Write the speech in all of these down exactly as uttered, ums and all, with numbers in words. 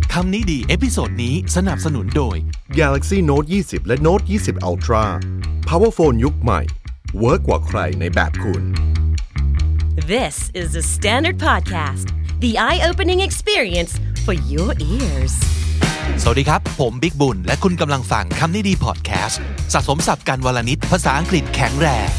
คำนี้ดีเอพิโซดนี้สนับสนุนโดย Galaxy Note ยี่สิบและ Note ยี่สิบ Ultra Power Phone ยุคใหม่เวิร์กกว่าใครในแบบคุณ This is the Standard Podcast, the eye-opening experience for your ears. สวัสดีครับผมบิ๊กบุญและคุณกำลังฟังคำนี้ดีพอดแคสต์สะสมศัพท์กันวลนิดภาษาอังกฤษแข็งแรง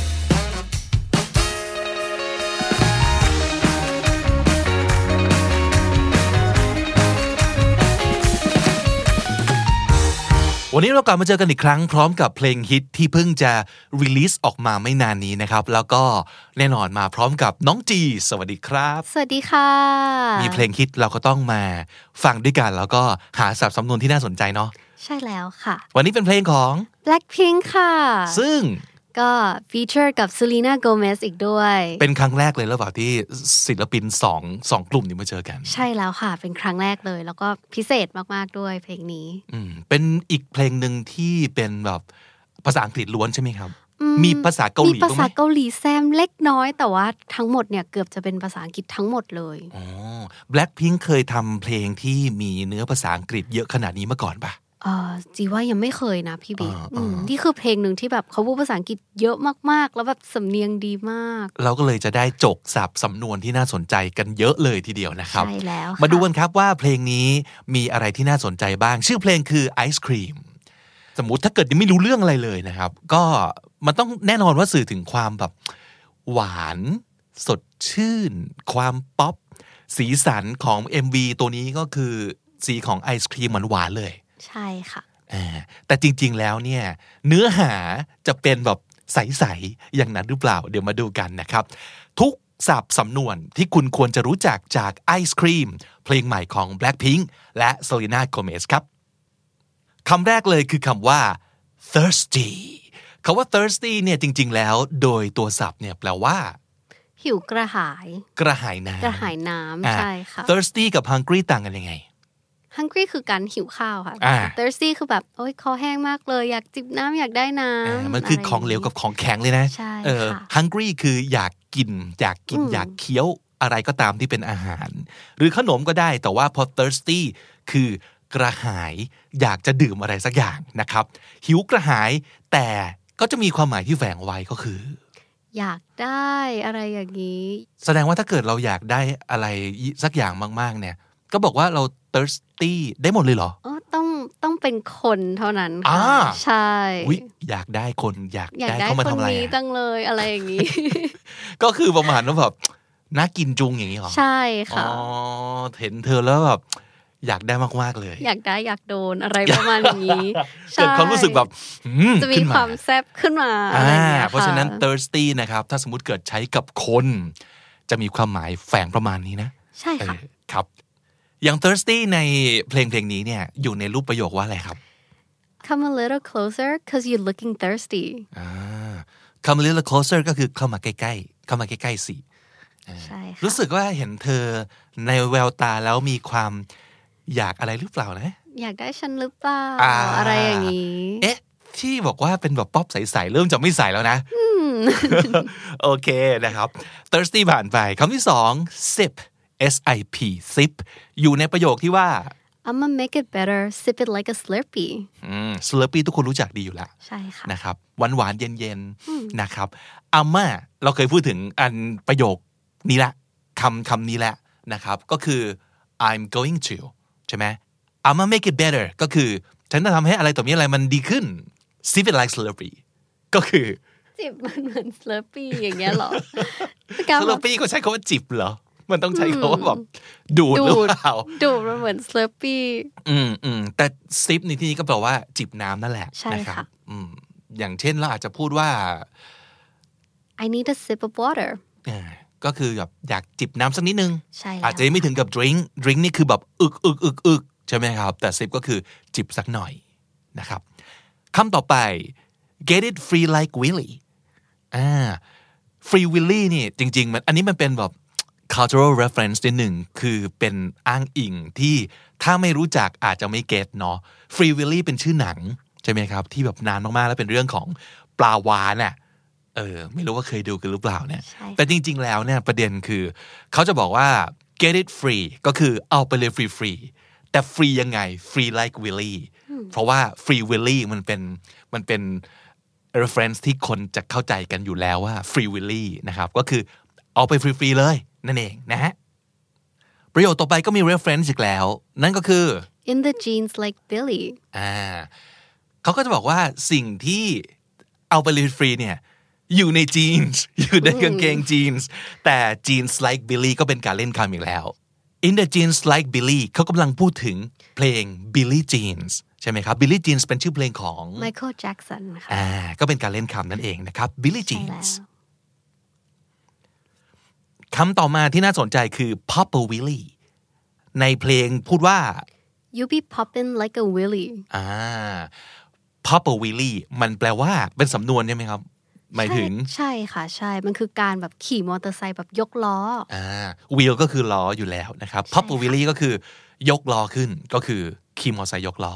วันนี้เรากลับมาเจอกันอีกครั้งพร้อมกับเพลงฮิตที่เพิ่งจะรีลีสออกมาไม่นานนี้นะครับแล้วก็แน่นอนมาพร้อมกับน้องจีสวัสดีครับสวัสดีค่ะมีเพลงฮิตเราก็ต้องมาฟังด้วยกันแล้วก็หาศัพท์สำนวนที่น่าสนใจเนาะใช่แล้วค่ะวันนี้เป็นเพลงของ Blackpink ค่ะซึ่งก็ฟีเจอร์กับ Selena Gomez อีกด้วยเป็นครั้งแรกเลยหรือเปล่าที่ศิลปินสองสองกลุ่มนี้มาเจอกันใช่แล้วค่ะเป็นครั้งแรกเลยแล้วก็พิเศษมากๆด้วยเพลงนี้อืมเป็นอีกเพลงนึงที่เป็นแบบภาษาอังกฤษล้วนใช่ไหมครับมีภาษาเกาหลีมีภาษาเกาหลีแซมเล็กน้อยแต่ว่าทั้งหมดเนี่ยเกือบจะเป็นภาษาอังกฤษทั้งหมดเลยอ๋อ Blackpink เคยทำเพลงที่มีเนื้อภาษาอังกฤษเยอะขนาดนี้มาก่อนปะเออจีว่ายังไม่เคยนะพี่บิ๊กนี่คือเพลงหนึ่งที่แบบเขาพูดภาษาอังกฤษเยอะมากๆแล้วแบบสำเนียงดีมากเราก็เลยจะได้จกศัพท์สำนวนที่น่าสนใจกันเยอะเลยทีเดียวนะครับใช่แล้วมาดูกันครับว่าเพลงนี้มีอะไรที่น่าสนใจบ้างชื่อเพลงคือ Ice Cream สมมุติถ้าเกิดยังไม่รู้เรื่องอะไรเลยนะครับก็มันต้องแน่นอนว่าสื่อถึงความแบบหวานสดชื่นความป๊อปสีสันของ เอ็ม วี ตัวนี้ก็คือสีของไอศครีมหวานๆเลยใช่ค่ะแต่จริงๆแล้วเนี่ยเนื้อหาจะเป็นแบบใสๆอย่างนั้นหรือเปล่าเดี๋ยวมาดูกันนะครับทุกศัพท์สำนวนที่คุณควรจะรู้จักจากไอศครีมเพลงใหม่ของ Blackpink และ Selena Gomez ครับคำแรกเลยคือคำว่า thirsty คำว่า thirsty เนี่ยจริงๆแล้วโดยตัวศัพท์เนี่ยแปลว่าหิวกระหายกระหายน้ำกระหายน้ำใช่ค่ะ thirsty กับ hungry ต่างกันยังไง hungry คือการหิวข้าวค่ะ thirsty คือแบบโอ๊ยคอแห้งมากเลยอยากจิบน้ำอยากได้น้ำมันคือของเหลวกับของแข็งเลยนะใช่ค่ะ hungry คืออยากกินอยากกินอยากเคี้ยวอะไรก็ตามที่เป็นอาหารหรือขนมก็ได้แต่ว่าพอ thirsty คือกระหายอยากจะดื่มอะไรสักอย่างนะครับหิวกระหายแต่ก็จะมีความหมายที่แฝงไว้ก็คืออยากได้อะไรอย่างนี้แสดงว่าถ้าเกิดเราอยากได้อะไรสักอย่างมากๆเนี่ยก็บอกว่าเรา thirsty ได้หมดเลยเหรออ๋อต้องต้องเป็นคนเท่านั้นค่ะใช่อุ๊ยอยากได้คนอยากได้เขามาทำอะไรอยากได้คนนี้จังเลยอะไรอย่างนี้ก็คือประมาณว่าแบบน่ากินจุงอย่างนี้หรอใช่ค่ะอ๋อเห็นเธอแล้วแบบอยากได้มากๆเลยอยากได้อยากโดนอะไรประมาณนี้เกิดความรู้สึกแบบจะมีความแซ่บขึ้นมาอะไรอย่างเงี้ยเพราะฉะนั้น thirsty นะครับถ้าสมมุติเกิดใช้กับคนจะมีความหมายแฝงประมาณนี้นะใช่ค่ะครับอย่าง thirsty ในเพลงเพลงนี้เนี่ยอยู่ในรูปประโยคว่าอะไรครับ Come a little closer cause you're looking thirsty อ่า Come a little closer ก็คือเข้ามาใกล้ๆเข้ามาใกล้ๆสิใช่ค่ะรู้สึกว่าเห็นเธอในแววตาแล้วมีความอยากอะไรหรือเปล่านะอยากได้ฉันหรือเปล่า อ, อะไรอย่างนี้เอ๊ะที่บอกว่าเป็นแบบป๊อปใสๆเริ่มจะไม่ใสแล้วนะโอเคนะครับ thirsty ผ่านไปคำที่สอง sip S I P sip อยู่ในประโยคที่ว่า I'ma make it better sip it like a slurpee อืม slurpee ทุกคนรู้จักดีอยู่แล้วใช่ค่ะนะครับหวานๆเย็นๆนะครับ Amma เราเคยพูดถึงอันประโยคนี้ละคำคำนี้แหละนะครับก็คือ I'm going to ใช่ไหม I'ma make it better ก็คือฉันจะทำให้อะไรต่อมีอะไรมันดีขึ้น sip it like slurpee ก็คือจิบมันเหมือน slurpee อย่างเงี้ยหรอ slurpee ก็ใช้คำว่าจิบเหรอมันต้องใช้คำว่าแบบดูดหรือเปล่าดูดมันเหมือน slurpee อืมอืมแต่ sip ในที่นี้ก็แปลว่าจิบน้ำนั่นแหละนะครับอืมอย่างเช่นเราอาจจะพูดว่า I need a sip of water ก็คือแบบอยากจิบน้ำสักนิดนึงอาจจะไม่ถึงกับ drink drink นี่คือแบบอึกอึกอึกอึกใช่ไหมครับแต่ sip ก็คือจิบสักหน่อยนะครับคำต่อไป get it free like Willy อ่า free Willy นี่จริงๆมันอันนี้มันเป็นแบบ cultural reference นิดหนึ่งคือเป็นอ้างอิงที่ถ้าไม่รู้จักอาจจะไม่เก็ตเนาะ free Willy เป็นชื่อหนังใช่ไหมครับที่แบบนานมากๆแล้วเป็นเรื่องของปลาวาฬน่ะเออไม่รู้ว่าเคยดูกันหรือเปล่าเนี่ยแต่จริงๆแล้วเนี่ยประเด็นคือเขาจะบอกว่า get it free ก็คือเอาไปเลยฟรีแต่ฟรียังไง free like Willy เพราะว่า free Willy มันเป็นมันเป็น reference ที่คนจะเข้าใจกันอยู่แล้วว่า free Willy นะครับก็คือเอาไปฟรีๆเลยนั่นเองนะฮะประโยคต่อไปก็มี reference อีกแล้วนั่นก็คือ in the jeans like Billy อ่าเขาก็จะบอกว่าสิ่งที่เอาไปฟรีๆเนี่ยอยู่ในจีนส์อยู่ในกางเกงจีนส์แต่ jeans like Billy ก็เป็นการเล่นคำอีกแล้ว in the jeans like Billy เขากำลังพูดถึงเพลง Billie Jeans ใช่ไหมครับ Billie Jeans เป็นชื่อเพลงของ Michael Jackson ค่ะอ่าก็เป็นการเล่นคำนั่นเองนะครับ Billie Jeans คำต่อมาที่น่าสนใจคือ Papa Willy ในเพลงพูดว่า You be poppin' like a Willy อ่า Papa Willy มันแปลว่าเป็นสำนวนใช่ไหมครับหมายถึงใช่ค่ะใช่มันคือการแบบขี่มอเตอร์ไซค์แบบยกล้ออ่า wheel ก็คือล้ออยู่แล้วนะครับ Papa Willy ก็คือยกล้อขึ้นก็คือขี่มอเตอร์ไซค์ยกล้อ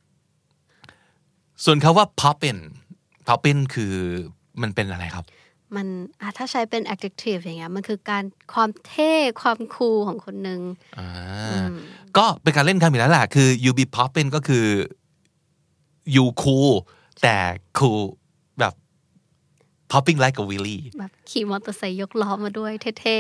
ส่วนคำว่า poppin poppin คือมันเป็นอะไรครับมันถ้าใช้เป็น adjective อย่างเงี้ยมันคือการความเท่ความคูลของคนนึงอ่าก็เป็นการเล่นคำอีกแล้วล่ะคือ you be poppin ก็คือ you cool แต่ cool แบบ popping like a Willy แบบขี่มอเตอร์ไซค์ยกล้อมาด้วยเท่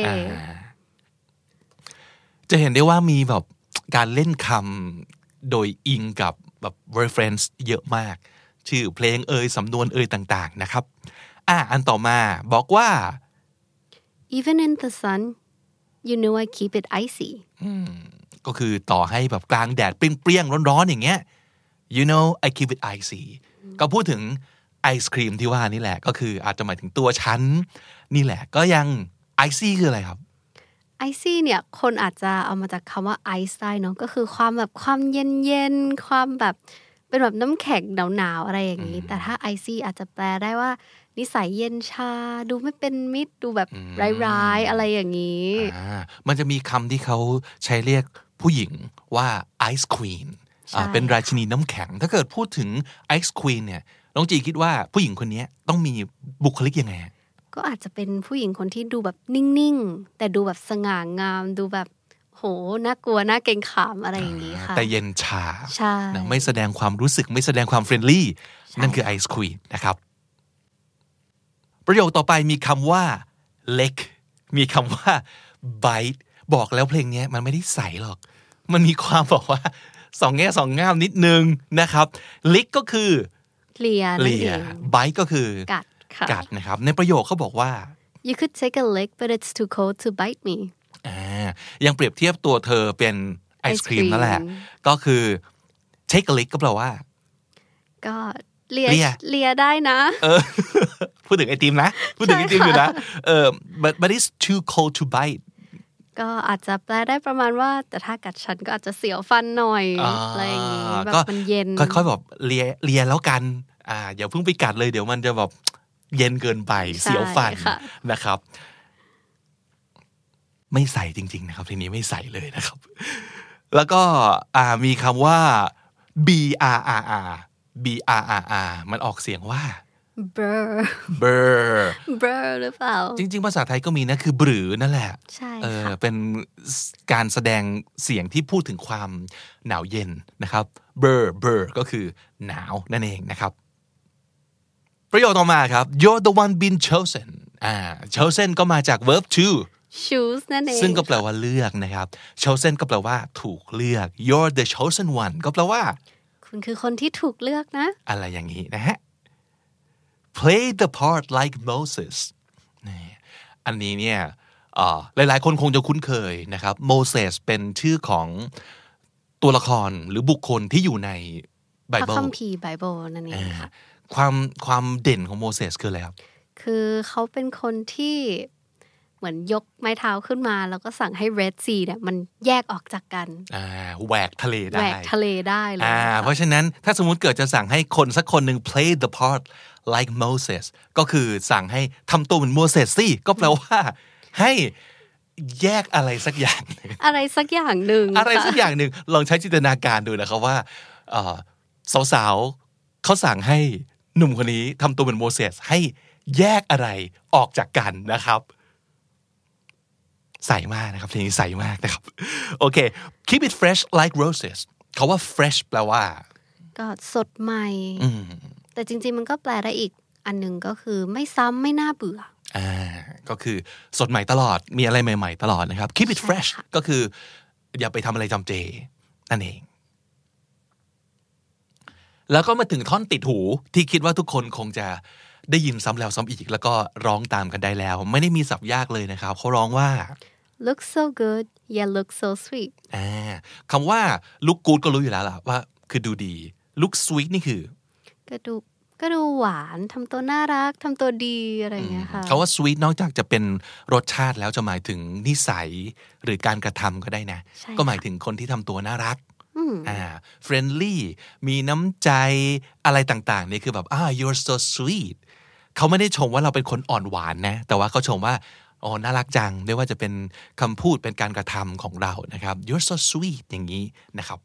ๆจะเห็นได้ว่ามีแบบการเล่นคำโดยอิงกับแบบ reference เยอะมากชื่อเพลงเอ่ยสำนวนเอ่ยต่างๆนะครับอ่ะอันต่อมาบอกว่า even in the sun you know I keep it icy ก็คือต่อให้แบบกลางแดดเปรี้ยงๆร้อนๆอย่างเงี้ย you know I keep it icy ก็พูดถึงไอศครีมที่ว่านี่แหละก็คืออาจจะหมายถึงตัวฉันนี่แหละก็ยัง icy คืออะไรครับ icy เนี่ยคนอาจจะเอามาจากคำว่า ice ได้เนาะก็คือความแบบความเย็นๆความแบบเป็นแบบน้ำแข็งหนาวๆอะไรอย่างนี้แต่ถ้า icy อาจจะแปลได้ว่านิสัยเย็นชาดูไม่เป็นมิตรดูแบบร้ายๆอะไรอย่างนี้อ่ามันจะมีคำที่เขาใช้เรียกผู้หญิงว่า ice queen อ่าเป็นราชินีน้ำแข็งถ้าเกิดพูดถึง ice queen เนี่ยน้องจีคิดว่าผู้หญิงคนนี้ต้องมีบุคลิกยังไงก็อาจจะเป็นผู้หญิงคนที่ดูแบบนิ่งๆแต่ดูแบบสง่างามดูแบบโหน่ากลัวน่าเกรงขามอะไรอย่างนี้ค่ะแต่เย็นชาใช่นะไม่แสดงความรู้สึกไม่แสดงความเฟรนลี่นั่นคือ ice queen นะครับประโยคต่อไปมีคำว่า lick มีคำว่า bite บอกแล้วเพลงนี้มันไม่ได้ใสหรอกมันมีความบอกว่าสองแง่สองง่ามนิดนึงนะครับ lick ก็คือเลียเลีย bite ก็คือกัดค่ะกัดนะครับในประโยคเขาบอกว่า you could take a lick but it's too cold to bite me อ่ายังเปรียบเทียบตัวเธอเป็นไอศครีมนั่นแหละก็คือ take a lick ก็แปลว่าก็เลียเลียได้นะเออพูดถึงไอติมนะพูดถึงไอติมอยู่นะเออ but but it's too cold to bite ก็อาจจะแปลได้ประมาณว่าแต่ถ้ากัดฉันก็อาจจะเสียวฟันหน่อยอะไรอย่างงี้แบบมันเย็นค่อยๆแบบเลียเลียแล้วกันอ่าอย่าเพิ่งไปกัดเลยเดี๋ยวมันจะแบบเย็นเกินไปเสียวฟันนะครับไม่ใส่จริงๆนะครับทีนี้ไม่ใส่เลยนะครับแล้วก็อ่ามีคำว่า b r r r b r r r มันออกเสียงว่า burr burr burr หรือเปล่าจริงๆภาษาไทยก็มีนะคือบือนั่นแหละใช่เออเป็นการแสดงเสียงที่พูดถึงความหนาวเย็นนะครับ burr burr ก็คือหนาวนั่นเองนะครับประโยคต่อมาครับ you're the one been chosen อ่า chosen ก็มาจาก verb to choose นั่นเองซึ่งก็แปลว่าเลือกนะครับ chosen ก็แปลว่าถูกเลือก you're the chosen one ก็แปลว่าคุณคือคนที่ถูกเลือกนะอะไรอย่างนี้นะฮะ play the part like Moses นี่อันนี้เนี่ยหลายๆคนคงจะคุ้นเคยนะครับ Moses เป็นชื่อของตัวละครหรือบุคคลที่อยู่ในไบเบิลพระคัมภีร์ไบเบิลนั่นเองค่ะความความเด่นของโมเสสคืออะไรครับคือเขาเป็นคนที่เหมือนยกไม้เท้าขึ้นมาแล้วก็สั่งให้ Red Sea เนี่ยมันแยกออกจากกันอ่าแหวกทะเลได้แหวกทะเลได้เลยอ่าเพราะฉะนั้นถ้าสมมุติเกิดจะสั่งให้คนสักคนหนึ่ง play the part like Moses ก็คือสั่งให้ทำตัวเหมือนโมเสสสิก็แปลว่าให้แยกอะไรสักอย่างอะไรสักอย่างหนึ่งอะไรสักอย่างหนึ่งลองใช้จินตนาการดูนะครับว่าสาวๆเขาสั่งให้หนุ่มคนนี้ทำตัวเหมือนโมเสสให้แยกอะไรออกจากกันนะครับใสมากนะครับทีนี้ใสมากนะครับโอเค keep it fresh like roses คาว่า fresh แปลว่าก็สดใหม่แต่จริงๆมันก็แปลได้อีกอันนึงก็คือไม่ซ้ำไม่น่าเบื่ออ่าก็คือสดใหม่ตลอดมีอะไรใหม่ๆตลอดนะครับ keep it fresh ก็คืออย่าไปทำอะไรจำเจนั่นเองแล้วก็มาถึงท่อนติดหูที่คิดว่าทุกคนคงจะได้ยินซ้ำแล้วซ้ำอีกแล้วก็ร้องตามกันได้แล้วไม่ได้มีศัพท์ยากเลยนะครับเขาร้องว่า look so good yeah look so sweet อ่าคำว่า look good ก็รู้อยู่แล้วล่ะว่าคือดูดี look sweet นี่คือก็ดูก็ดูหวานทำตัวน่ารักทำตัวดีอะไรอย่างเงี้ยค่ะคำว่า sweet นอกจากจะเป็นรสชาติแล้วจะหมายถึงนิสัยหรือการกระทำก็ได้นะก็หมายถึงคนที่ทำตัวน่ารักอ่า friendly มีน้ำใจอะไรต่างๆนี่คือแบบอ่า you're so sweet เขาไม่ได้ชมว่าเราเป็นคนอ่อนหวานนะแต่ว่าเขาชมว่าอ๋อน่ารักจังไม่ว่าจะเป็นคำพูดเป็นการกระทำของเรานะครับ you're so sweet อย่างนี้นะครับ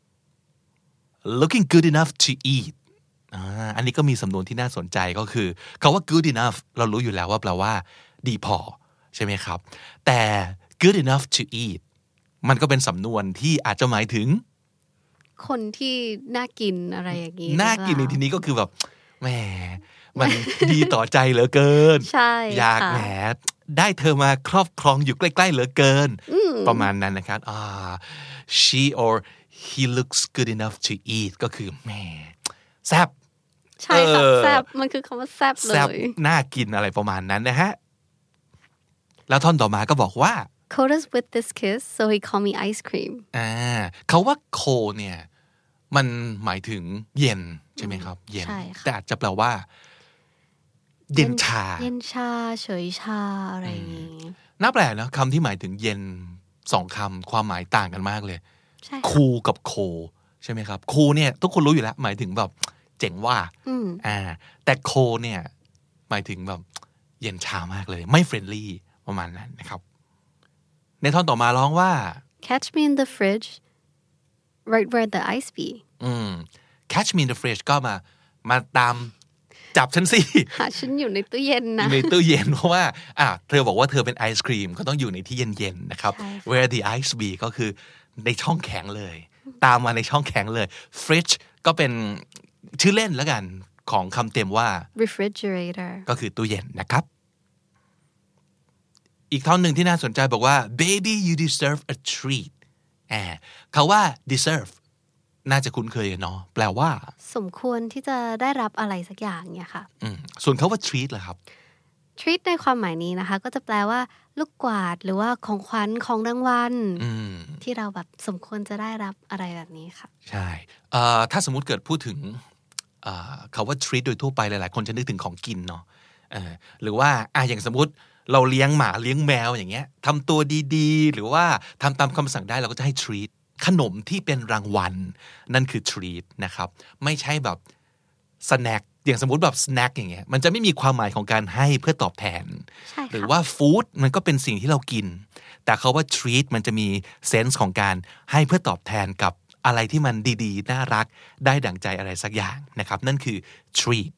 looking good enough to eat อ่าอันนี้ก็มีสำนวนที่น่าสนใจก็คือคำว่า good enough เรารู้อยู่แล้วว่าแปลว่าดีพอใช่ไหมครับแต่ good enough to eat มันก็เป็นสำนวนที่อาจจะหมายถึงคนที่น่ากินอะไรอย่างนี้น่ากินในที่นี้ก็คือแบบแหมมันดีต่อใจเหลือเกินใช่อยากแหมได้เธอมาครอบครองอยู่ใกล้ๆเหลือเกินประมาณนั้นนะครับอ่า she or he looks good enough to eat ก็คือแหมแซ่บใช่ค่ะแซ่บมันคือคำว่าแซ่บเลยแซ่บน่ากินอะไรประมาณนั้นนะฮะแล้วท่อนต่อมาก็บอกว่า cold us with this kiss so he called me ice cream อ่าเขาว่า cold เนี่ยมันหมายถึงเย็นใช่ไหมครับเย็นแต่อาจจะแปลว่าเย็นชาเย็นชาเฉยชาอะไรอย่างงี้น่าแปลกนะคำที่หมายถึงเย็นสองคำความหมายต่างกันมากเลยคูลกับโคใช่ไหมครับคูลเนี่ยทุกคนรู้อยู่แล้วหมายถึงแบบเจ๋งว่าอ่าแต่โคเนี่ยหมายถึงแบบเย็นชามากเลยไม่เฟรนลี่ประมาณนั้นนะครับในท่อนต่อมาร้องว่า catch me in the fridge right where the ice be อืม catch me in the fridge ก็มามาตามจับฉันสิหาฉันอยู่ในตู้เย็นนะในตู้เย็นเพราะว่าอ่ะเธอบอกว่าเธอเป็นไอศครีมก็ต้องอยู่ในที่เย็นๆนะครับ where the ice be ก็คือในช่องแข็งเลยตามมาในช่องแข็งเลย fridge ก็เป็นชื่อเล่นแล้วกันของคำเต็มว่า refrigerator ก็คือตู้เย็นนะครับอีกท่อนหนึ่งที่น่าสนใจบอกว่า baby you deserve a treat แอบเขาว่า deserve น่าจะคุ้นเคยเนาะแปลว่าสมควรที่จะได้รับอะไรสักอย่างเนี่ยค่ะส่วนเขาว่า treat ล่ะครับ treat ในความหมายนี้นะคะก็จะแปลว่าลูกกวาดหรือว่าของขวัญของรางวัลที่เราแบบสมควรจะได้รับอะไรแบบนี้ค่ะใช่ถ้าสมมุติเกิดพูดถึงเขาว่า treat โดยทั่วไปหลายๆคนจะนึกถึงของกินเนาะหรือว่าอ่ะอย่างสมมติเราเลี้ยงหมาเลี้ยงแมวอย่างเงี้ยทำตัวดีๆหรือว่าทำตามคำสั่งได้เราก็จะให้ treat ขนมที่เป็นรางวัลนั่นคือ treat นะครับไม่ใช่แบบ snack อย่างสมมติแบบ snack อย่างเงี้ยมันจะไม่มีความหมายของการให้เพื่อตอบแทนหรือว่า food มันก็เป็นสิ่งที่เรากินแต่เขาว่า treat มันจะมีเซนส์ของการให้เพื่อตอบแทนกับอะไรที่มันดีๆน่ารักได้ดั่งใจอะไรสักอย่างนะครับนั่นคือ treat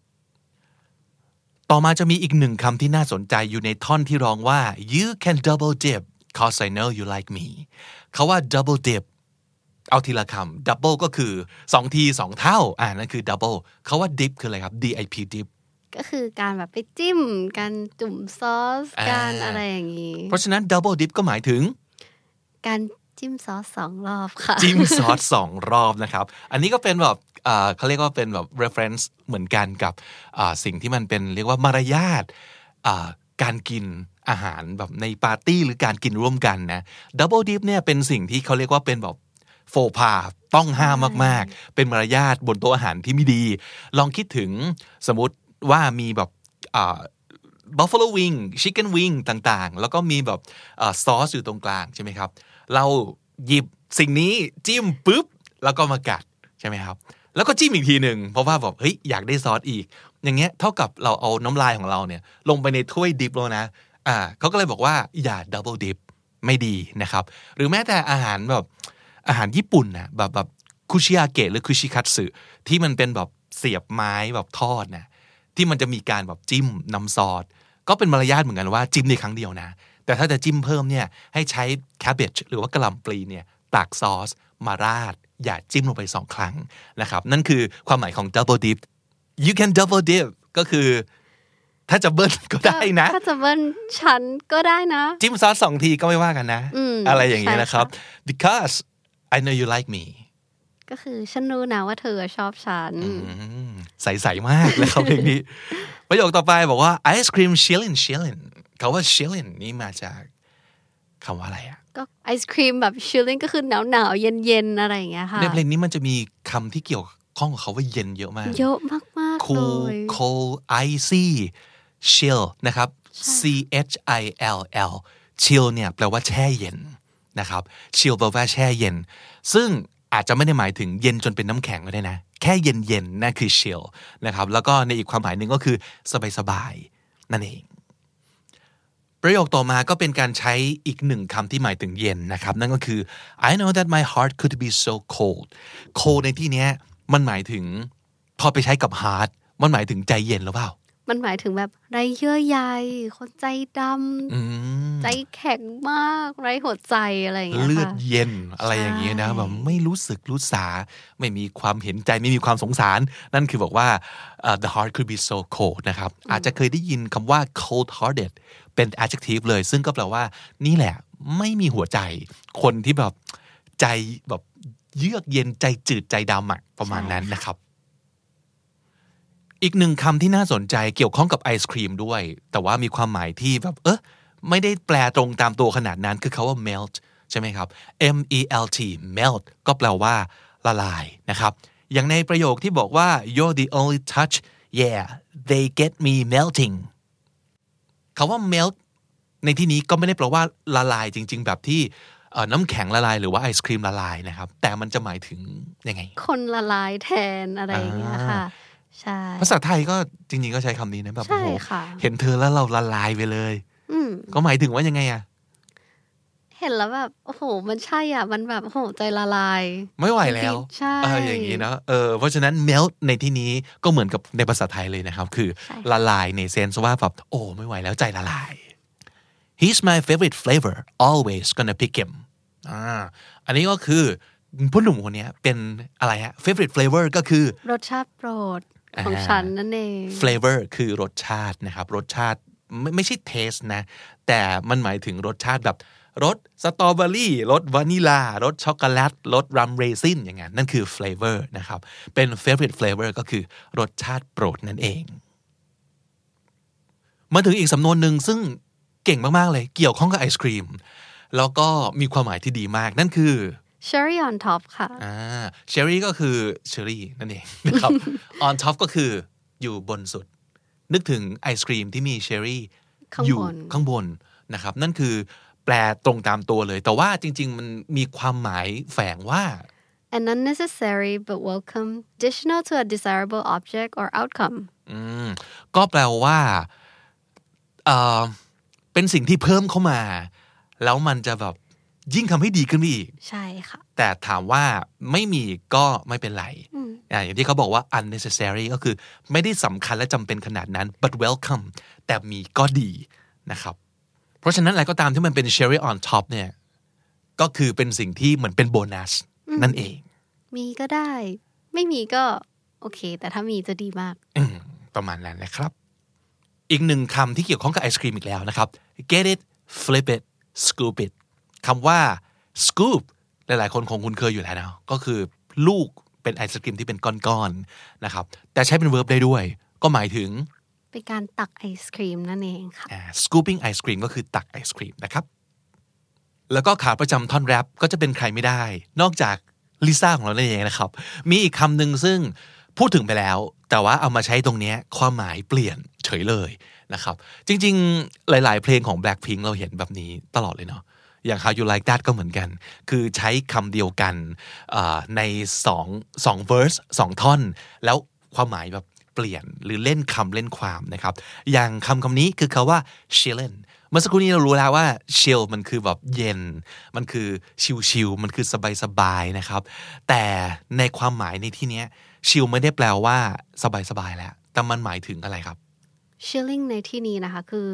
ต่อมาจะมีอีกหนึ่งคำที่น่าสนใจอยู่ในท่อนที่ร้องว่า you can double dip cause I know you like me เขาว่า double dip เอาทีละคำ double ก็คือสองทีสองเท่าอ่านั่นคือ double เขาว่า dip คืออะไรครับ D I P dip ก็คือการแบบไปจิ้มการจุ่มซอสการอะไรอย่างนี้เพราะฉะนั้น double dip ก็หมายถึงการจิ้มซอสสองรอบค่ะจิ้มซอสสองรอบนะครับอันนี้ก็เป็นแบบเขาเรียกว่าเป็นแบบ reference เหมือนกันกับสิ่งที่มันเป็นเรียกว่ามารยาทการกินอาหารแบบในปาร์ตี้หรือการกินร่วมกันนะ double dip เนี่ยเป็นสิ่งที่เขาเรียกว่าเป็นแบบโฟพาต้องห้ามมากๆเป็นมารยาทบนโต๊ะอาหารที่ไม่ดีลองคิดถึงสมมติว่ามีแบบbuffalo wing chicken wing ต่างๆแล้วก็มีแบบซอสอยู่ตรงกลางใช่ไหมครับเราหยิบสิ่งนี้จิ้มปุ๊บแล้วก็มากัดใช่ไหมครับแล้วก็จิ้มอีกทีหนึ่งเพราะว่าแบบเฮ้ยอยากได้ซอสอีกอย่างเงี้ยเท่ากับเราเอาน้ำลายของเราเนี่ยลงไปในถ้วยดิบแล้วนะอ่าเขาก็เลยบอกว่าอย่าดับเบิลดิปไม่ดีนะครับหรือแม้แต่อาหารแบบอาหารญี่ปุ่นนะแบบแบบคุชิอาเกะหรือคุชิคัตสึที่มันเป็นแบบเสียบไม้แบบทอดนะที่มันจะมีการแบบจิ้มน้ำซอสก็เป็นมารยาทเหมือนกันว่าจิ้มในครั้งเดียวนะแต่ถ้าจะจิ้มเพิ่มเนี่ยให้ใช้แคเบจหรือว่ากะหล่ำปลีเนี่ยตักซอสมาราดอย่าจิ้มลงไปสองครั้งนะครับนั่นคือความหมายของ double dip you can double dip ก็คือถ้าจะเบิ้ลก็ได้นะถ้าจะเบิ้ลฉันก็ได้นะจิ้มซอสสองทีก็ไม่ว่ากันนะอะไรอย่างเงี้ยนะครับ because I know you like me ก็คือฉันรู้นะว่าเธอชอบฉันใสๆมากเลยครับเพลงนี้ประโยคต่อไปบอกว่า ice cream shillin shillin คำว่า shillin นี่มาจากคำว่าอะไรอ่ะก็ไอศครีมแบบ chilling ก็คือหนาวๆเย็นๆอะไรอย่างเงี้ยค่ะในเพลงนี้มันจะมีคำที่เกี่ยวข้องกับเขาว่าเย็นเยอะมากเยอะมากๆ cool cold icy chill นะครับ c h i l l chill เนี่ยแปลว่าแช่เย็นนะครับ chill แปลว่าแช่เย็นซึ่งอาจจะไม่ได้หมายถึงเย็นจนเป็นน้ำแข็งก็ได้นะแค่เย็นๆนั่นคือ chill นะครับแล้วก็ในอีกความหมายหนึ่งก็คือสบายๆนั่นเองประโยคต่อมาก็เป็นการใช้อีกหนึ่งคำที่หมายถึงเย็นนะครับนั่นก็คือ I know that my heart could be so cold cold ในที่นี้มันหมายถึงพอไปใช้กับ heart มันหมายถึงใจเย็นหรือเปล่ามันหมายถึงแบบไร้เยื่อใยคนใจดำใจแข็งมากไร้หัวใจอะไรอย่างเงี้ยเลือดเย็นอะไรอย่างเงี้ยนะแบบไม่รู้สึกรู้สาไม่มีความเห็นใจไม่มีความสงสารนั่นคือบอกว่า uh, the heart could be so cold นะครับอาจจะเคยได้ยินคำว่า cold hearted เป็น adjective เลยซึ่งก็แปลว่านี่แหละไม่มีหัวใจคนที่แบบใจแบบเยือกเย็นใจจืดใจดำอะประมาณนั้นนะครับอีกหนึ่งคำที่น่าสนใจเกี่ยวข้องกับไอศครีมด้วยแต่ว่ามีความหมายที่แบบเออไม่ได้แปลตรงตามตัวขนาดนั้นคือคาว่า melt ใช่ไหมครับ m e l t melt ก็แปลว่าละลายนะครับอย่างในประโยคที่บอกว่า you're the only touch yeah they get me melting คาว่า melt ในที่นี้ก็ไม่ได้แปลว่าละลายจริงๆแบบที่น้ำแข็งละลายหรือว่าไอศครีมละลายนะครับแต่มันจะหมายถึงยังไงคนละลายแทนอะไรอย่างเงี้ยค่ะใช่ภาษาไทยก็จริงๆก็ใช้คำนี้นะแบบโอ้โหเห็นเธอแล้วเราละลายไปเลยก็หมายถึงว่ายังไงอะเห็นแล้วแบบโอ้โหมันใช่อ่ะมันแบบโอ้โหใจละลายไม่ไหวแล้วใช่เอออย่างนี้นะเออเพราะฉะนั้น melt ในที่นี้ก็เหมือนกับในภาษาไทยเลยนะครับคือละลายในเซนส์ว่าแบบโอ้ไม่ไหวแล้วใจละลาย He's my favorite flavor always gonna pick him อ่าอันนี้ก็คือผู้หนุ่มคนนี้เป็นอะไรฮะ favorite flavor ก็คือรสชาติโปรดของฉันนั่นเอง flavor คือรสชาตินะครับรสชาติไม่ไม่ใช่ taste นะแต่มันหมายถึงรสชาติแบบรสสตรอเบอรี่รสวานิลารสช็อกโกแลตรสรัมเรซินอย่างนั้นนั่นคือ flavor นะครับเป็น favorite flavor ก็คือรสชาติโปรดนั่นเองมาถึงอีกสำนวนหนึ่งซึ่งเก่งมากๆเลยเกี่ยวข้องกับไอศครีมแล้วก็มีความหมายที่ดีมากนั่นคือ cherry on top ค่ะอ่า cherry ก็คือ cherry นั่นเองนะครับ on top ก็คืออยู่บนสุดนึกถึงไอศครีมที่มี cherry อยู่ข้างบนนะครับนั่นคือแปลตรงตามตัวเลยแต่ว่าจริงๆมันมีความหมายแฝงว่า an unnecessary but welcome additional to a desirable object or outcome อืมก็แปลว่าเอ่อเป็นสิ่งที่เพิ่มเข้ามาแล้วมันจะแบบยิ่งทำให้ดีขึ้นไปอีกใช่ค่ะแต่ถามว่าไม่มีก็ไม่เป็นไรอ่าอย่างที่เขาบอกว่า unnecessary ก็คือไม่ได้สำคัญและจำเป็นขนาดนั้น but welcome แต่มีก็ดีนะครับเพราะฉะนั้นอะไรก็ตามที่มันเป็น cherry on top เนี่ยก็คือเป็นสิ่งที่เหมือนเป็นโบนัสนั่นเองมีก็ได้ไม่มีก็โอเคแต่ถ้ามีจะดีมากประมาณนั้นนะครับอีกหนึ่งคำที่เกี่ยวข้องกับไอศครีมอีกแล้วนะครับ get it flip it scoop it คำว่า scoop หลายๆคนคงคุ้นเคยอยู่แล้วนะก็คือลูกเป็นไอศกรีมที่เป็นก้อนๆนะครับแต่ใช้เป็น verb ได้ด้วยก็หมายถึงเป็นการตักไอศครีมนั่นเองค่ะ scooping ice cream ก็คือตักไอศครีมนะครับแล้วก็ขาประจำท่อนแรปก็จะเป็นใครไม่ได้นอกจากลิซ่าของเราเองนะครับมีอีกคำหนึ่งซึ่งพูดถึงไปแล้วแต่ว่าเอามาใช้ตรงนี้ความหมายเปลี่ยนเฉยเลยนะครับจริงๆหลายๆเพลงของ Blackpink เราเห็นแบบนี้ตลอดเลยเนาะอย่าง How You Like That ก็เหมือนกันคือใช้คำเดียวกันในสอง สอง verse สองท่อนแล้วความหมายแบบเปลี่ยนหรือเล่นคำเล่นความนะครับอย่างคำคำนี้คือคำว่า chillin เมื่อสักครู่นี้เรารู้แล้วว่า chill มันคือแบบเย็นมันคือชิลๆมันคือสบายๆนะครับแต่ในความหมายในที่นี้ chill ไม่ได้แปลว่าสบายๆแล้วแต่มันหมายถึงอะไรครับ chilling ในที่นี้นะคะคือ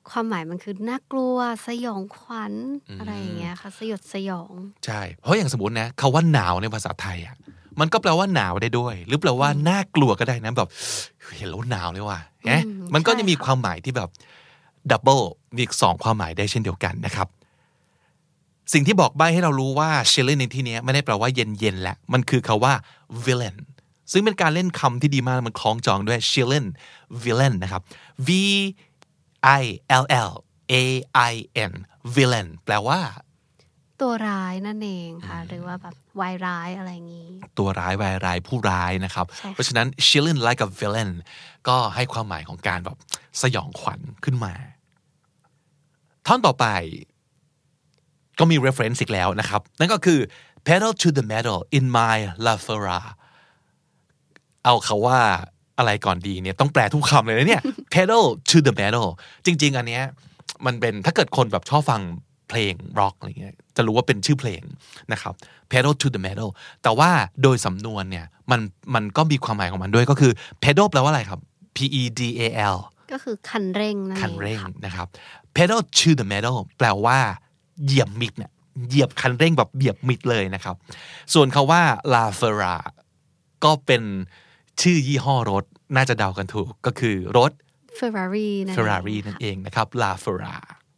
ความหมายมันคือน่ากลัวสยองขวัญ อ, อะไรอย่างเงี้ยค่ะสยดสยองใช่เพราะอย่างสมมตินะคำว่าหนาวในภาษาไทยอ่ะมันก็แปลว่าหนาวได้ด้วยหรือแปลว่าน่ากลัวก็ได้นะแบบเห็นแล้วหนาวเลยว่ะเอ๊ะมันก็จะมีความหมายที่แบบดับเบิลมีอีกสองความหมายได้เช่นเดียวกันนะครับสิ่งที่บอกใบ้ให้เรารู้ว่า chilling ในที่นี้ไม่ได้แปลว่าเย็นๆแหละมันคือคำว่า villain ซึ่งเป็นการเล่นคำที่ดีมากมันคล้องจองด้วย chilling villain นะครับ v i l l a i n villain แปลว่าตัวร้ายนั่นเองค่ะหรือว่าแบบวายร้ายอะไรอย่างนี้ตัวร้ายวายร้ายผู้ร้ายนะครับเพราะฉะนั้น chilling like a villain ก็ให้ความหมายของการแบบสยองขวัญขึ้นมาท่อนต่อไปก็มี reference อีกแล้วนะครับนั่นก็คือ pedal to the metal in my la fera เอาเขาว่าอะไรก่อนดีเนี่ยต้องแปลทุกคำเลยนะเนี่ย pedal to the metal จริงๆอันเนี้ยมันเป็นถ้าเกิดคนแบบชอบฟังเพลงร็อกอะไรเงี้ยจะรู้ว่าเป็นชื่อเพลงนะครับ pedal to the metal แต่ว่าโดยสำนวนเนี่ยมันมันก็มีความหมายของมันด้วยก็คือ pedal แปลว่าอะไรครับ p e d a l ก็คือคันเร่งนั่นเองคันเร่งนะครับ pedal to the metal แปลว่าเหยียบมิดเนี่ยเหยียบคันเร่งแบบเหยียบมิดเลยนะครับส่วนคาว่า La Ferra ก็เป็นชื่อยี่ห้อรถน่าจะเดากันถูกก็คือรถ Ferrari นั่น Ferrari นั่นเองนะครับ La Ferra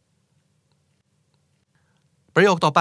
ประโยคต่อไป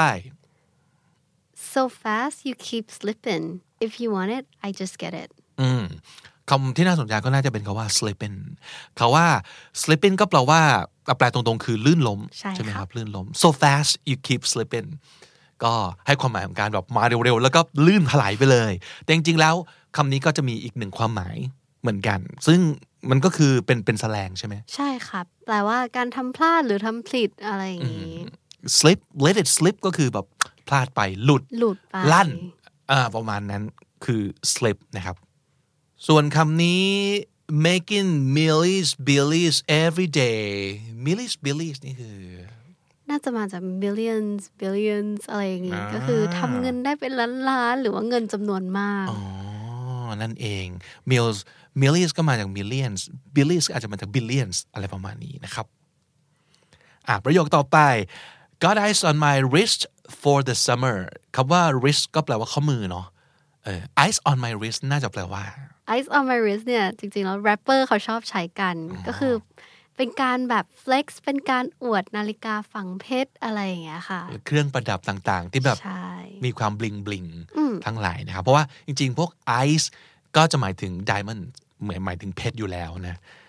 So fast you keep slipping if you want it I just get it อืมคำที่น่าสนใจก็น่าจะเป็นคำว่า slipping คำว่า slipping ก็แปลว่าแปลตรงๆคือลื่นล้มใช่ไหมครับลื่นล้ม so fast you keep slipping ก็ให้ความหมายของการแบบมาเร็วๆแล้วก็ลื่นถลายไปเลยแต่จริงๆแล้วคำนี้ก็จะมีอีกหนึ่งความหมายเหมือนกันซึ่งมันก็คือเป็นเป็นแสแลงใช่ไหมใช่ครับแปลว่าการทำพลาดหรือทำผิดอะไรอย่างนี้ slip let it slip ก็คือแบบพลาดไปหลุดหลุดไปลั่นอ่าประมาณนั้นคือ slip นะครับส่วนคำนี้ making millies billies every day millies billies นี่คือน่าจะมาจาก millions billions อะไรอย่างงี้ก็คือทำเงินได้เป็นล้านๆหรือว่าเงินจำนวนมากอ๋อนั่นเอง mills millies ก็มาจาก millions billies อาจจะมาจาก billions อะไรประมาณนี้นะครับอ่ะประโยคต่อไป got ice on my wrist for the summer คำว่า wrist ก็แปลว่าข้อมือเนาะเออ ice on my wrist น่าจะแปลว่า ice on my wrist เนี่ยจริงๆแล้วแรปเปอร์เขาชอบใช้กันก็คือเป็นการแบบ flex เป็นการอวดนาฬิกาฝังเพชรอะไรอย่างเงี้ยค่ะเครื่องประดับต่างๆที่แบบมีความบลิงบลิงทั้งหลายนะครับเพราะว่าจริงๆพวก ice ก็จะหมายถึง diamond เหมือนหมายถึงเพชรอยู่แล้วนะ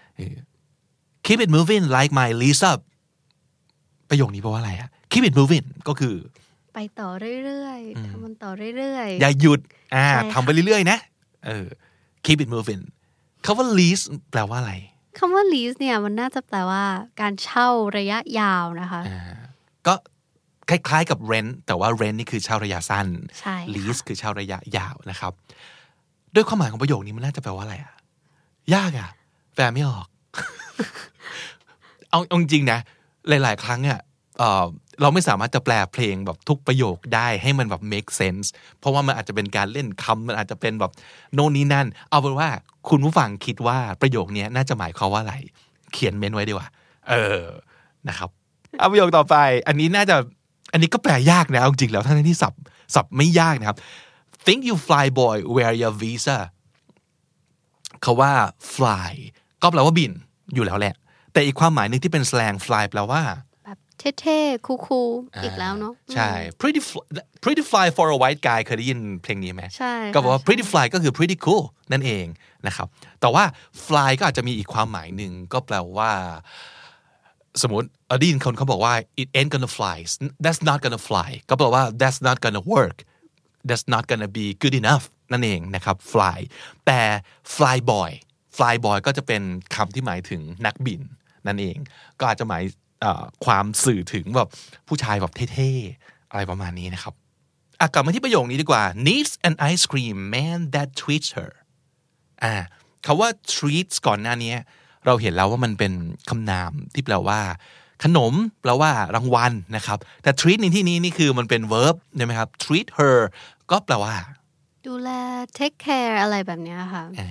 keep it moving like my Lisa ประโยคนี้แปลว่าอะไรอะ keep it moving ก็คือไปต่อเรื่อยๆทำมันต่อเรื่อยๆอย่าหยุดอ่าทำไปเรื่อยๆนะเออ keep it moving คำว่า lease แปลว่าอะไรคำว่า lease เนี่ยมันน่าจะแปลว่าการเช่าระยะยาวนะคะก็คล้ายๆกับ rent แต่ว่า rent นี่คือเช่าระยะสั้น lease คือเช่าระยะยาวนะครับด้วยความหมายของประโยคนี้มันน่าจะแปลว่าอะไรอะยากอะแปลไม่ออก เอาจริงๆนะหลายๆครั้งอะเอ่อเราไม่สามารถจะแปลเพลงแบบทุกประโยคได้ให้มันแบบ make sense เพราะว่ามันอาจจะเป็นการเล่นคำมันอาจจะเป็นแบบโน่นนี่นั่นเอาเป็นว่าคุณผู้ฟังคิดว่าประโยคนี้น่าจะหมายความว่าอะไรเขียนเมนไว้ดีกว่าเออนะครับเอาประโยคต่อไปอันนี้น่าจะอันนี้ก็แปลยากนะเอาจริงๆแล้วทั้งที่ศัพท์ศัพท์ไม่ยากนะครับ think you fly boy wear your visa คำว่า fly ก็แปลว่าบินอยู่แล้วแหละแต่อีกความหมายนึงที่เป็นสแลง fly แปลว่าเท่ๆคูลๆอีกแล้วเนาะใช่ pretty pretty fly for a white guy เคยได้ยินเพลงนี้ไหมใช่ก็บอกว่า pretty fly ก็คือ pretty cool นั่นเองนะครับแต่ว่า fly ก็อาจจะมีอีกความหมายหนึ่งก็แปลว่าสมมติอดีนคนเขาบอกว่า it ain't gonna fly that's not gonna fly ก็แปลว่า that's not gonna work that's not gonna be good enough นั่นเองนะครับ fly แต่ fly boy fly boy ก็จะเป็นคำที่หมายถึงนักบินนั่นเองก็อาจจะหมายความสื่อถึงแบบผู้ชายแบบเท่ๆอะไรประมาณนี้นะครับอ่ะกลับมาที่ประโยคนี้ดีกว่า needs an ice cream man that treats her อ่าคำว่า treats ก่อนหน้านี้เราเห็นแล้วว่ามันเป็นคำนามที่แปลว่าขนมแปลว่ารางวัลนะครับแต่ treat ในที่นี้นี่คือมันเป็น verb ใช่ไหมครับ treat her ก็แปลว่าดูแล take care อะไรแบบนี้ค่ะ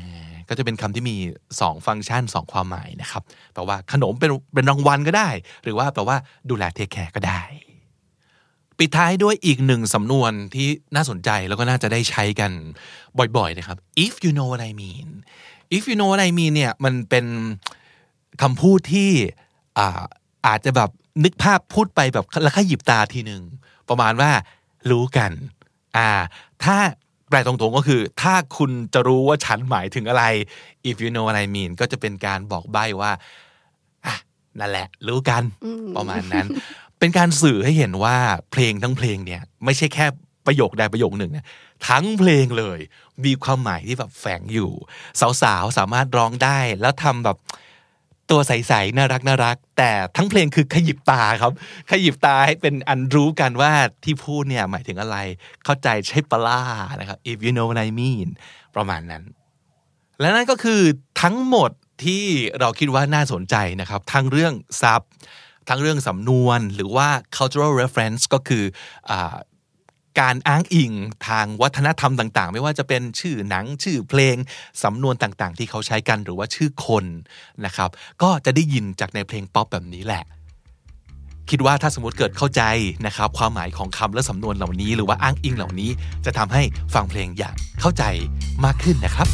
ก็จะเป็นคำที่มีสองฟังก์ชันสองความหมายนะครับแปลว่าขนมเป็นเป็นรางวัลก็ได้หรือว่าแปลว่าดูแลเทคแคร์ก็ได้ปิดท้ายด้วยอีกหนึ่งสำนวนที่น่าสนใจแล้วก็น่าจะได้ใช้กันบ่อยๆนะครับ if you know what I mean if you know what I mean เนี่ยมันเป็นคำพูดที่อ่าอาจจะแบบนึกภาพพูดไปแบบแล้วขยิบตาทีหนึ่งประมาณว่ารู้กันอ่าถ้าแปลตรงๆก็คือถ้าคุณจะรู้ว่าฉันหมายถึงอะไร if you know what I mean ก็จะเป็นการบอกใบ้ว่าอ่ะนั่นแหละรู้กันประมาณนั้นเป็นการสื่อให้เห็นว่าเพลงทั้งเพลงเนี่ยไม่ใช่แค่ประโยคใดประโยคหนึ่งนะทั้งเพลงเลยมีความหมายที่แบบแฝงอยู่สาวๆสามารถร้องได้แล้วทำแบบตัวใสๆน่ารักน่ารักแต่ทั้งเพลงคือขยิบตาครับขยิบตาให้เป็นอันรู้กันว่าที่พูดเนี่ยหมายถึงอะไรเข้าใจใช่ปะล่านะครับ if you know what I mean ประมาณนั้นและนั่นก็คือทั้งหมดที่เราคิดว่าน่าสนใจนะครับทั้งเรื่องศัพท์ทั้งเรื่องสำนวนหรือว่า cultural reference ก็คืออ่าการอ้างอิงทางวัฒนธรรมต่างๆไม่ว่าจะเป็นชื่อหนังชื่อเพลงสำนวนต่างๆที่เขาใช้กันหรือว่าชื่อคนนะครับก็จะได้ยินจากในเพลงป๊อปแบบนี้แหละคิดว่าถ้าสมมติเกิดเข้าใจนะครับความหมายของคำและสำนวนเหล่านี้หรือว่าอ้างอิงเหล่านี้จะทำให้ฟังเพลงอย่างเข้าใจมากขึ้นนะครับ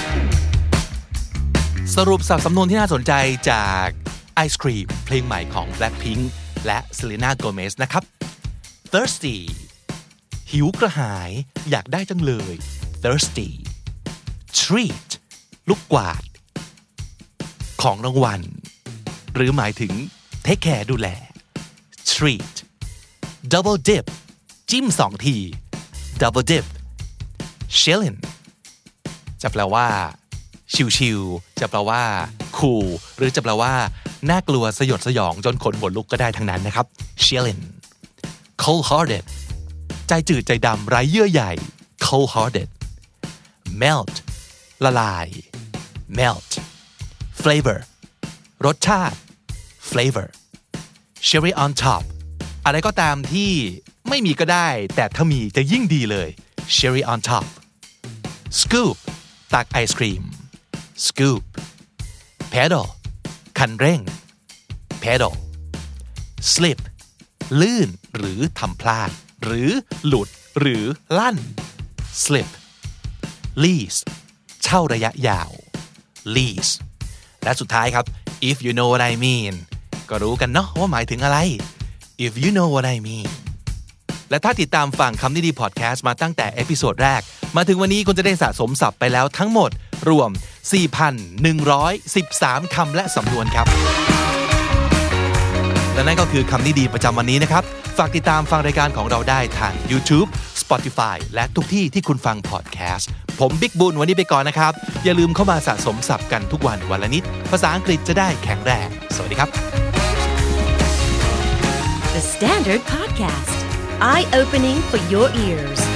สรุปสับสำนวนที่น่าสนใจจากไอศครีมเพลงใหม่ของ Blackpink และ Selena Gomez นะครับ thirstyหิวกระหายอยากได้จังเลย thirsty treat ลูกกวาดของรางวัลหรือหมายถึง take care ดูแล treat double dip จิ้มสองที double dip chillin จะแปลว่าชิวๆจะแปลว่า cool หรือจะแปลว่าน่ากลัวสยดสยองจนขนหัวลุกก็ได้ทั้งนั้นนะครับ chillin cold heartedใจจืดใจดำไร้เยื่อใย cold hearted melt ละลาย melt flavor รสชาติ flavor cherry on top อะไรก็ตามที่ไม่มีก็ได้แต่ถ้ามีจะยิ่งดีเลย cherry on top scoop ตักไอศครีม scoop pedal คันเร่ง pedal slip ลื่นหรือทำพลาดหรือหลุดหรือลั่น slip lease เช่าระยะยาว lease และสุดท้ายครับ if you know what I mean ก็รู้กันเนาะว่าหมายถึงอะไร if you know what I mean และถ้าติดตามฟังคำนี้ดีพอดแคสต์มาตั้งแต่เอพิโซดแรกมาถึงวันนี้คุณจะได้สะสมศัพท์ไปแล้วทั้งหมดรวม สี่พันหนึ่งร้อยสิบสาม คำและสำนวนครับและนั่นก็คือคำนี้ดีประจำวันนี้นะครับฝากติดตามฟังรายการของเราได้ทาง YouTube Spotify และทุกที่ที่คุณฟังพอดแคสต์ผมบิ๊กบุญวันนี้ไปก่อนนะครับอย่าลืมเข้ามาสะสมศัพท์กันทุกวันวันละนิดภาษาอังกฤษจะได้แข็งแรงสวัสดีครับ The Standard Podcast Eye Opening for Your Ears